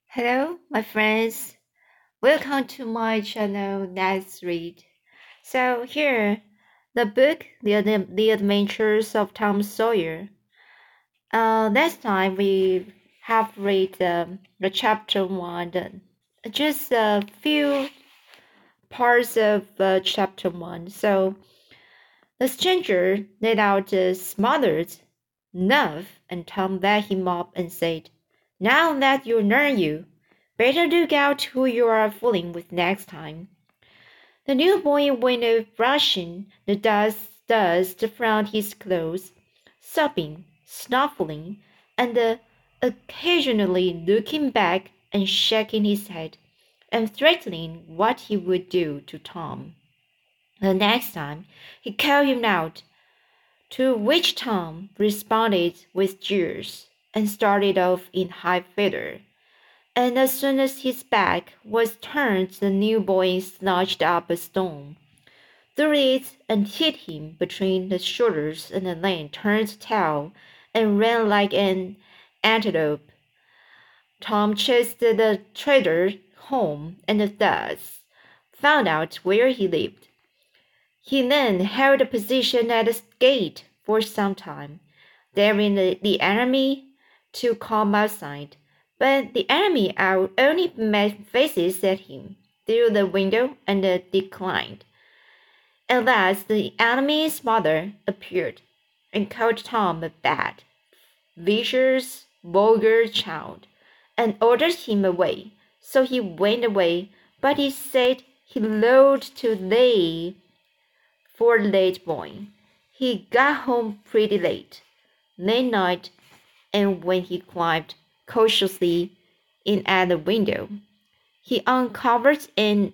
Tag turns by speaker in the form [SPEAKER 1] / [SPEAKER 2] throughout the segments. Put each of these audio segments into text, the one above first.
[SPEAKER 1] Hello, my friends. Welcome to my channel, Let's Read. So here, the book, The Adventures of Tom Sawyer. Last time we have read the chapter 1, just a few parts of chapter 1. So the stranger let out a smothered "Nuff," and Tom let him up and said, "Now that you know you, better look out who you are fooling with next time." The new boy went off brushing the dust from his clothes, sobbing, snuffling, and occasionally looking back and shaking his head, and threatening what he would do to Tom the next time he called him out, to which Tom responded with jeers and started off in high feather. And as soon as his back was turned, the new boy snatched up a stone, threw it, and hit him between the shoulders, and then turned tail and ran like an antelope. Tom chased the trader home and thus found out where he lived. He then held a position at the gate for some time, daring the enemy to come outside, but the enemy only made faces at him through the window and declined. At last the enemy's mother appeared and called Tom a bad, vicious, vulgar child, and ordered him away. So he went away, but he said he loved to lay for a late boy. He got home pretty late that night, and when he climbed cautiously in at the window, he uncovered an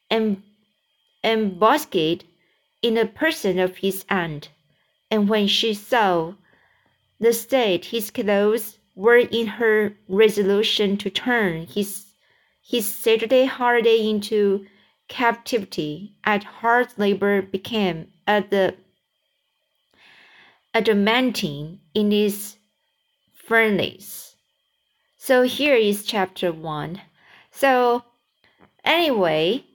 [SPEAKER 1] ambuscade in the person of his aunt, and when she saw the state his clothes were in, her resolution to turn his Saturday holiday into captivity at hard labor became adamantine in its furnace. So here is chapter 1. So anyway,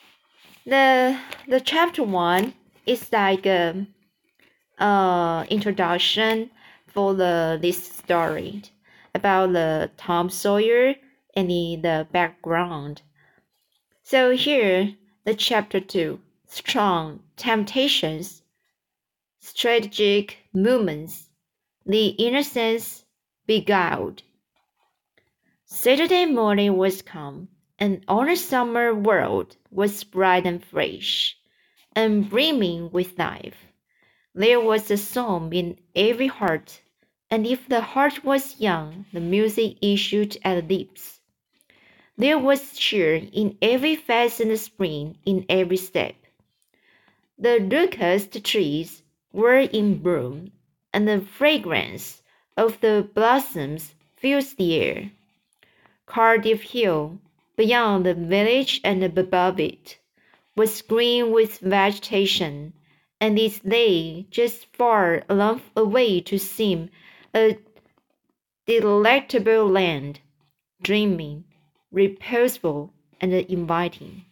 [SPEAKER 1] the chapter 1 is like a introduction for this story about the Tom Sawyer and the background. So here the chapter 2, strong temptations, strategic movements, the innocence beguiled. Saturday morning was come, and all the summer world was bright and fresh, and brimming with life. There was a song in every heart, and if the heart was young, the music issued at the lips. There was cheer in every face and spring in every step. The locust trees were in bloom, and the fragrance of the blossoms filled the air. Cardiff Hill, beyond the village and above it, was green with vegetation, and it lay just far enough away to seem a delectable land, dreaming, reposeful, and inviting.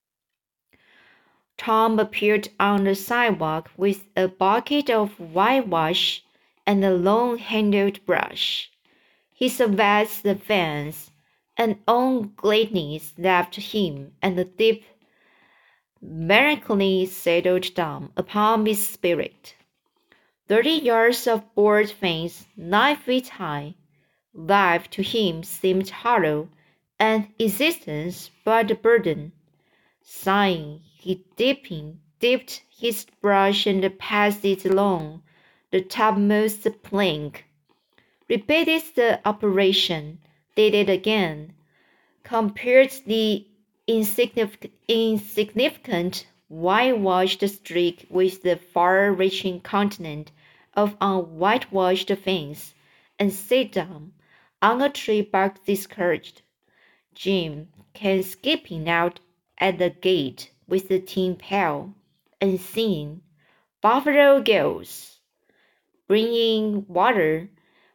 [SPEAKER 1] Tom appeared on the sidewalk with a bucket of whitewash and a long-handled brush. He surveyed the fence, and all gladness left him, and the deep melancholy settled down upon his spirit. 30 yards of board fence, 9 feet high. Life to him seemed hollow, and existence but a burden. Sighing, he dipped his brush and passed it along the topmost plank, repeated the operation, did it again, compared the insignificant whitewashed streak with the far-reaching continent of unwhitewashed fence, and sat down on a tree bark discouraged. Jim came skipping out at the gate with the tin pail, and singing "Buffalo Girls," bringing water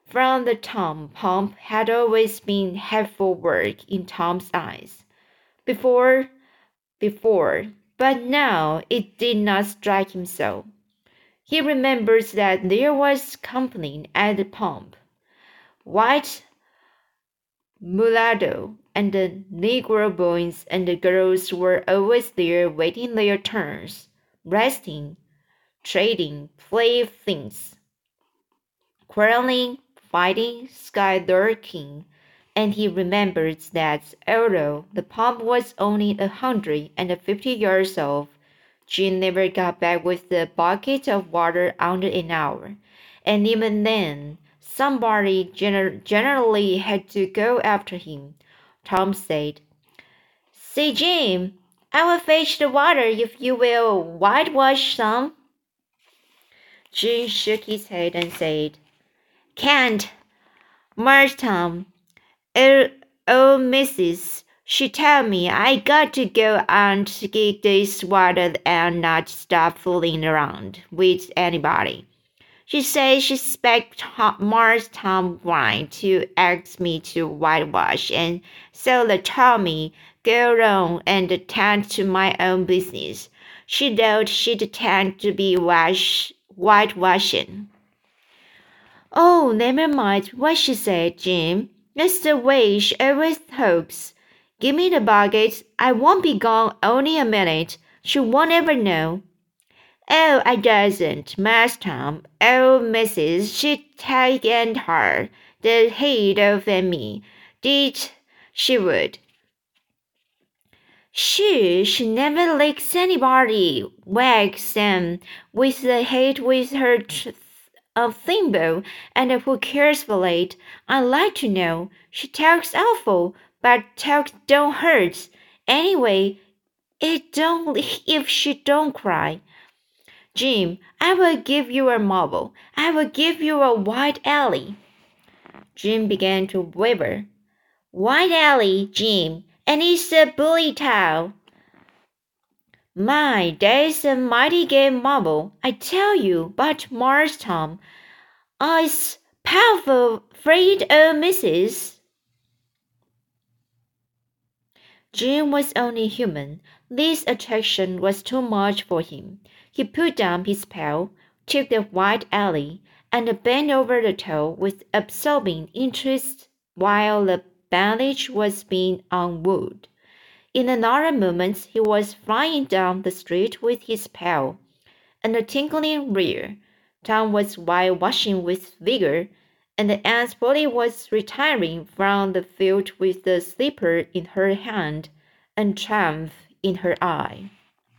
[SPEAKER 1] From the time, pump had always been hateful work in Tom's eyes. Before, but now it did not strike him so. He remembers that there was company at the pump. White mulatto and the Negro boys and the girls were always there waiting their turns, resting, trading playthings, quarreling, fighting, sky-darking, and he remembers that although the pump was only 150 yards off, Jim never got back with the bucket of water under an hour, and even then, somebody generally had to go after him. Tom said, "Say, Jim, I will fetch the water if you will whitewash some." Jim shook his head and said, "Can't, Marse Tom. Oh, missus, she tell me I got to go and get this water and not stop fooling around with anybody. She says she expects Marse Tom Grant to ask me to whitewash, and so they told me go around and attend to my own business. She thought she'd attend to be whitewashing." "Oh, never mind what she said, Jim. That's the way she always talks. Give me the bucket. I won't be gone only a minute. She won't ever know." "Oh, I doesn't, Mass Tom. Oh, missus, she'd taken her the head off of me. Did she would." She never licks anybody, wags them with the head with her thimble, and who cares for it? I'd like to know. She talks awful, but talk don't hurt. Anyway, it don't if she don't cry. Jim, I will give you a marble. I will give you a white alley." Jim began to waver. "White alley, Jim, and it's a bully town." "My, that's a mighty good marble, I tell you, but Marse Tom, I's powerful afraid o' missus." Jim was only human. This attraction was too much for him. He put down his pail, took the white alley, and bent over the toe with absorbing interest while the bandage was being unwound. In another moment he was flying down the street with his pail, and a tinkling rear. Tom was whitewashing with vigor, and Aunt Polly was retiring from the field with the slipper in her hand and triumph in her eye.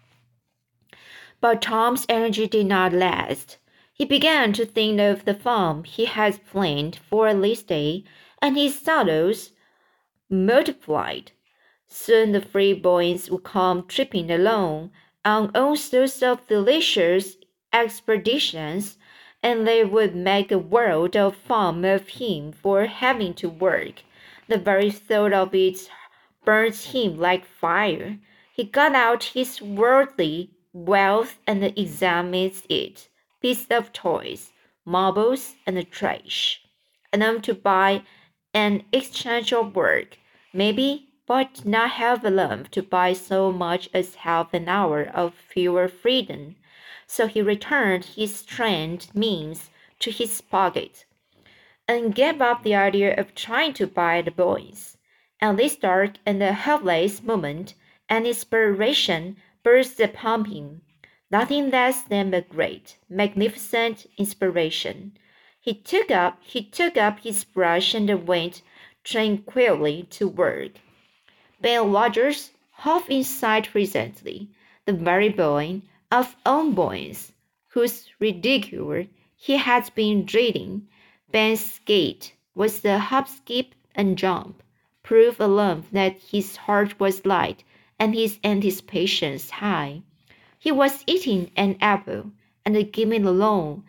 [SPEAKER 1] But Tom's energy did not last. He began to think of the fun he had planned for this day, and his sorrows multiplied. Soon the three boys would come tripping along on all sorts of delicious expeditions, and they would make a world of fun of him for having to work. The very thought of it burned him like fire. He got out his worldly wealth and examined it, pieces of toys, marbles, and trash, enough to buy an exchange of work, maybe, but not have enough to buy so much as half an hour of pure freedom. So he returned his strained means to his pocket, and gave up the idea of trying to buy the boys. At this dark and helpless moment, an inspiration burst upon him, nothing less than a great, magnificent inspiration. He took up his brush and went tranquilly to work. Ben Rogers, half in sight presently, the very boy of all boys, whose ridicule he had been dreading. Ben's gait was the hop, skip, and jump, proof alone that his heart was light and his anticipations high. He was eating an apple and giving a long,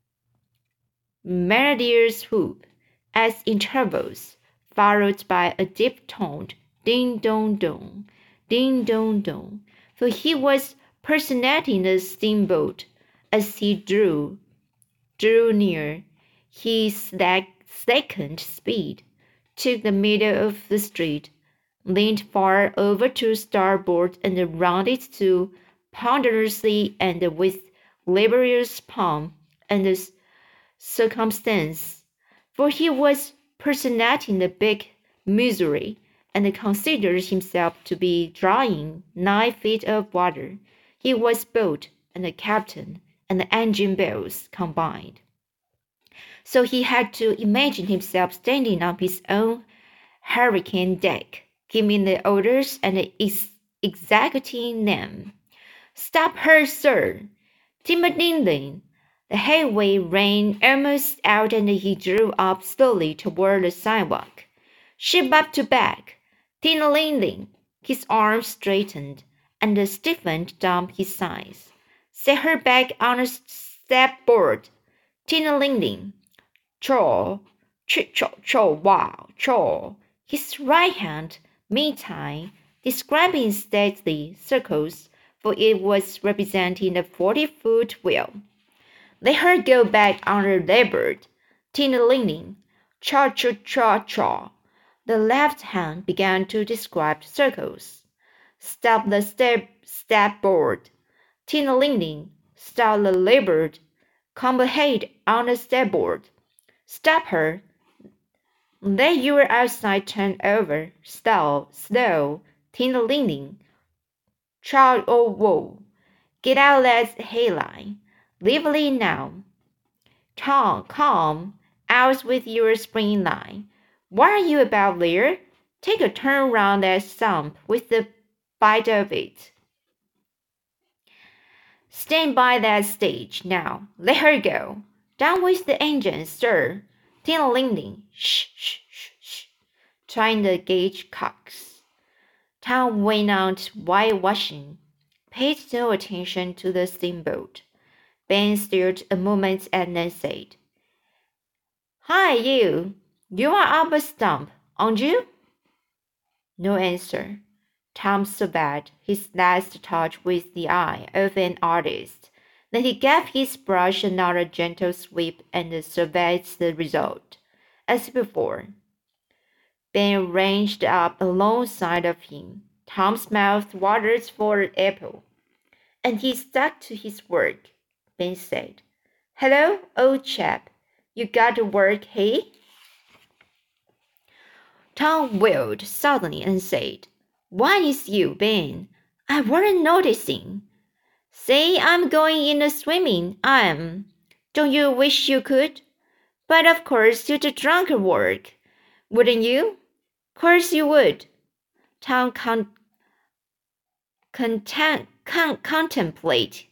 [SPEAKER 1] melodious whoop, at intervals, followed by a deep-toned ding-dong-dong, ding-dong-dong, for he was personating the steamboat. As he drew near, he second speed, took the middle of the street, leaned far over to starboard and rounded to ponderously and with laborious palm and circumstance, for he was personating the big Missouri, and considered himself to be drawing 9 feet of water. He was boat and the captain and the engine bells combined. So he had to imagine himself standing on his own hurricane deck, giving the orders and executing them. Stop her, sir! Tim-a-ding-ding! The headway ran almost out and he drew up slowly toward the sidewalk. Ship up to back! Ting-a-ling-ling! His arms straightened and stiffened down his sides. Set her back on the step-board! Ting-a-ling-ling! Chaw! Chaw! Chaw! His right hand, meantime, describing stately circles, for it was representing the 40-foot wheel. Let her go back on her larboard. Ting-a-ling-ling! Chaw! The left hand began to describe circles. Stop the step-board. Ting-a-ling-ling! Stop the larboard. Come ahead on the starboard. Stop her. Let your outside turn over. Slow. Ting-a-ling-ling. Chaw-oh-woah. Get out that hayline. Lively now. Tom, come. Out with your spring line. What are you about there? Take a turn round that stump with the bite of it. Stand by that stage now. Let her go. Down with the engine, sir. Ting-a-ling-ling. Shh. Trying the gauge cocks. Tom went on whitewashing. Paid no attention to the steamboat. Ben stared a moment and then said, Hi, you. You are up a stump, aren't you? No answer. Tom surveyed his last touch with the eye of an artist. Then he gave his brush another gentle sweep and surveyed the result. As before, Ben ranged up alongside of him. Tom's mouth watered for an apple, and he stuck to his work. Ben said, Hello, old chap. You got to work, hey? Tom wheeled suddenly and said, Why is you, Ben? I weren't noticing. Say I'm going in the swimming, I am. Don't you wish you could? But of course you'd drunk work, wouldn't you? Course you would. Tom contemplated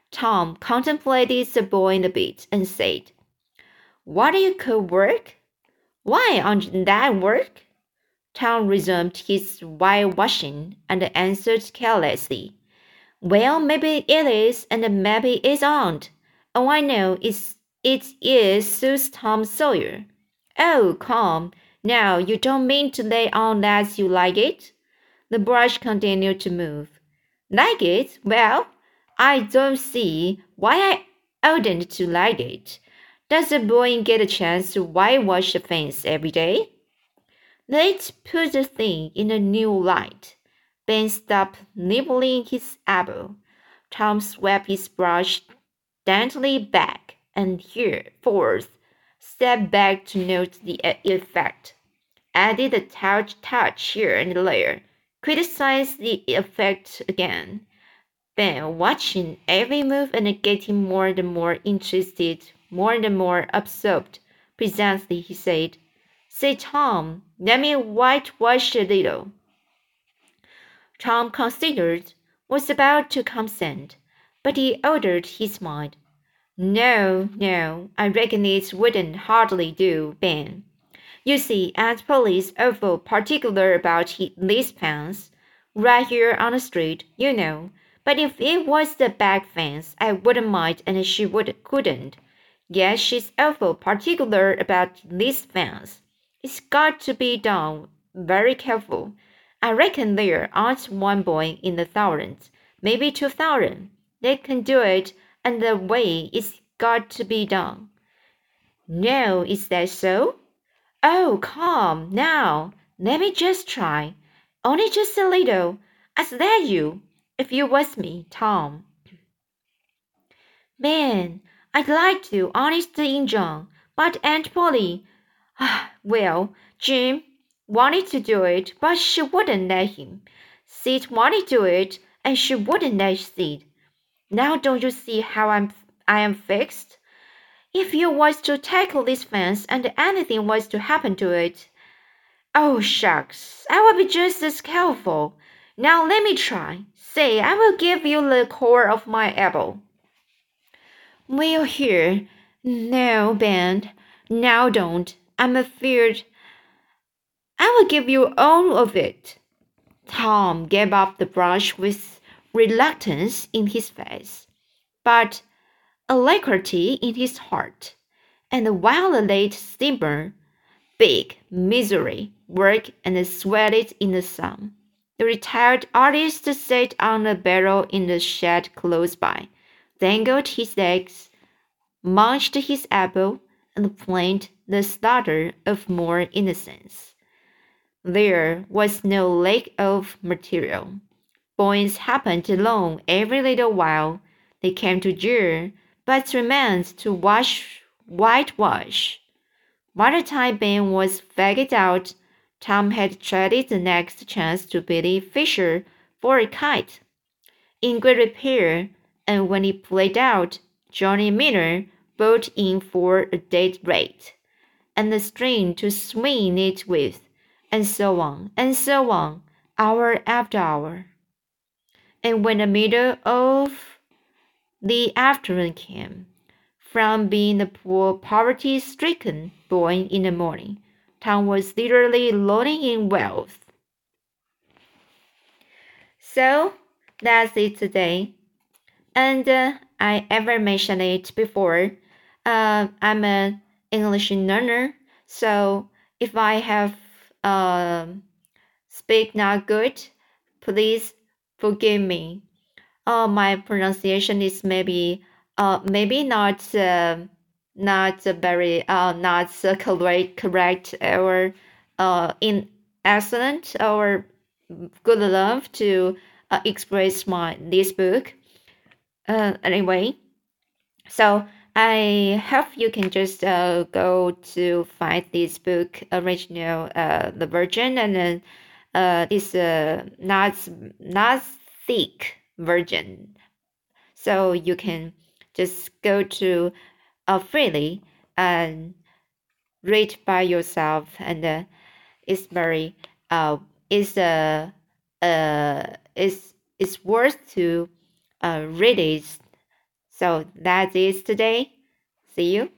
[SPEAKER 1] the boy in the bit and said, What do you call work? Why, aren't that work? Tom resumed his whitewashing and answered carelessly, Well, maybe it is and maybe it isn't. All I know is it suits Tom Sawyer. Oh, come, now you don't mean to lay on that you like it? The brush continued to move. Like it? Well, I don't see why I oughtn't to like it. Does a boy get a chance to whitewash a fence every day? Let's put the thing in a new light. Ben stopped nibbling his apple. Tom swept his brush daintily back and forth, stepped back to note the effect, added a touch here and there, criticized the effect again. Ben, watching every move and getting more and more interested, more and more absorbed, presently he said, Say, Tom, let me whitewash a little. Tom considered, was about to consent, but he altered his mind. No, I reckon it wouldn't hardly do, Ben. You see, Aunt Polly's awful particular about these fence, right here on the street, you know. But if it was the back fence, I wouldn't mind, and she couldn't. Yes, she's awful particular about this fence. It's got to be done very careful. I reckon there aren't one boy in 1,000, maybe 2,000, that can do it, and the way it's got to be done. No, is that so? Oh, come now. Let me just try. Only just a little. I'd let you, if you was me, Tom. Man, I'd like to, honest Injun, but Aunt Polly, well, Jim wanted to do it, but she wouldn't let him. Sid wanted to do it, and she wouldn't let Sid. Now don't you see how I am fixed? If you was to tackle this fence and anything was to happen to it, oh shucks, I will be just as careful. Now let me try. Say, I will give you the core of my elbow. Well, here. No, Ben. Now don't. I'm afraid I will give you all of it. Tom gave up the brush with reluctance in his face, but alacrity in his heart. And while the late steamer, big misery, worked and sweated in the sun, the retired artist sat on a barrel in the shed close by, dangled his legs, munched his apple, and planned the slaughter of more innocence. There was no lack of material. Boys happened along every little while. They came to jeer, but remained to whitewash. By the time Ben was fagged out, Tom had traded the next chance to Billy Fisher for a kite, in great repair, and when it played out, Johnny Miller brought in for a dead rate, and a string to swing it with, and so on, hour after hour. And when the middle of the afternoon came, from being a poor poverty-stricken boy in the morning, Tom was literally loading in wealth. So that's it today. And I ever mentioned it before. I'm an English learner, so if I have speak not good, please forgive me. My pronunciation is maybe not very not correct or in excellent or good enough to express my this book. Anyway, so I hope you can just go to find this book original the version, and then it's not thick version, so you can just go to freely and read by yourself, and it's very it's it's worth to read it. So that is today. See you.